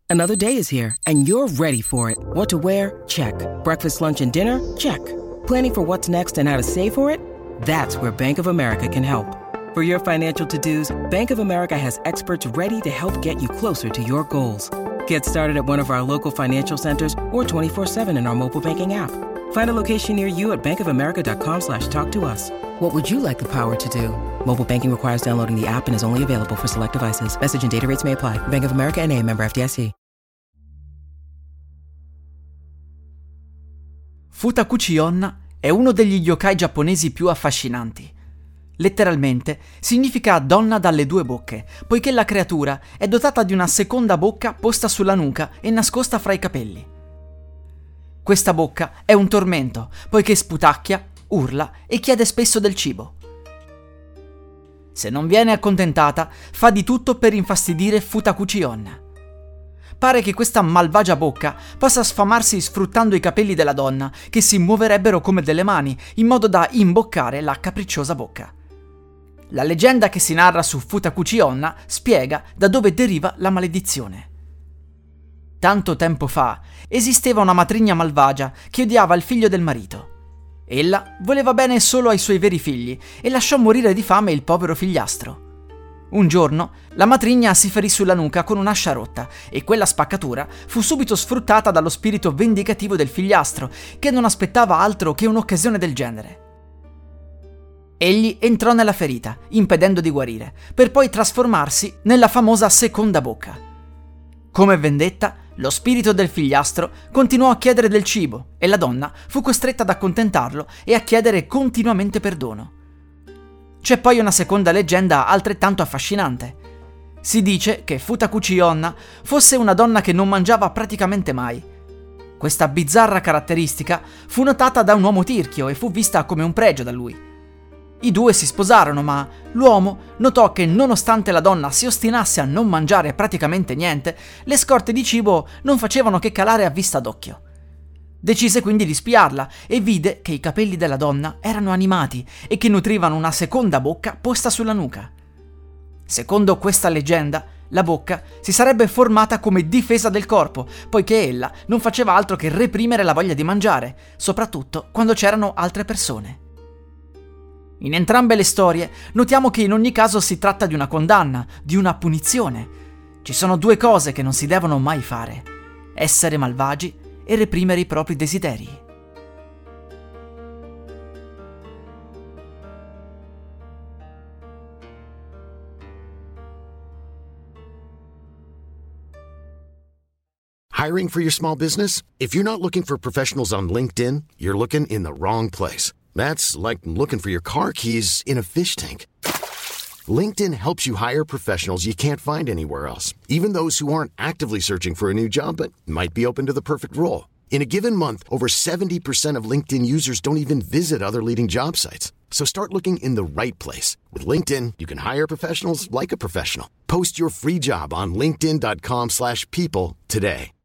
Another day is here, and you're ready for it. What to wear? Check. Breakfast, lunch, and dinner? Check. Planning for what's next and how to save for it? That's where Bank of America can help. For your financial to-dos, Bank of America has experts ready to help get you closer to your goals. Get started at one of our local financial centers or 24/7 in our mobile banking app. Find a location near you at bankofamerica.com/talktous. What would you like the power to do? Mobile banking requires downloading the app and is only available for select devices. Message and data rates may apply. Bank of America N.A., member FDIC. Futakuchi Onna è uno degli yokai giapponesi più affascinanti. Letteralmente significa donna dalle due bocche, poiché la creatura è dotata di una seconda bocca posta sulla nuca e nascosta fra i capelli. Questa bocca è un tormento, poiché sputacchia, urla e chiede spesso del cibo. Se non viene accontentata, fa di tutto per infastidire Futakuchi Onna. Pare che questa malvagia bocca possa sfamarsi sfruttando i capelli della donna, che si muoverebbero come delle mani, in modo da imboccare la capricciosa bocca. La leggenda che si narra su Futakuchi Onna spiega da dove deriva la maledizione. Tanto tempo fa esisteva una matrigna malvagia che odiava il figlio del marito. Ella voleva bene solo ai suoi veri figli e lasciò morire di fame il povero figliastro. Un giorno la matrigna si ferì sulla nuca con un'ascia rotta e quella spaccatura fu subito sfruttata dallo spirito vendicativo del figliastro, che non aspettava altro che un'occasione del genere. Egli entrò nella ferita, impedendo di guarire, per poi trasformarsi nella famosa seconda bocca. Come vendetta, lo spirito del figliastro continuò a chiedere del cibo e la donna fu costretta ad accontentarlo e a chiedere continuamente perdono. C'è poi una seconda leggenda altrettanto affascinante. Si dice che Futakuchi Onna fosse una donna che non mangiava praticamente mai. Questa bizzarra caratteristica fu notata da un uomo tirchio e fu vista come un pregio da lui. I due si sposarono, ma l'uomo notò che nonostante la donna si ostinasse a non mangiare praticamente niente, le scorte di cibo non facevano che calare a vista d'occhio. Decise quindi di spiarla e vide che i capelli della donna erano animati e che nutrivano una seconda bocca posta sulla nuca. Secondo questa leggenda, la bocca si sarebbe formata come difesa del corpo, poiché ella non faceva altro che reprimere la voglia di mangiare, soprattutto quando c'erano altre persone. In entrambe le storie notiamo che in ogni caso si tratta di una condanna, di una punizione. Ci sono due cose che non si devono mai fare: essere malvagi e reprimere i propri desideri. Hiring for your small business? If you're not looking for professionals on LinkedIn, you're looking in the wrong place. That's like looking for your car keys in a fish tank. LinkedIn helps you hire professionals you can't find anywhere else, even those who aren't actively searching for a new job but might be open to the perfect role. In a given month, over 70% of LinkedIn users don't even visit other leading job sites. So start looking in the right place. With LinkedIn, you can hire professionals like a professional. Post your free job on linkedin.com/people today.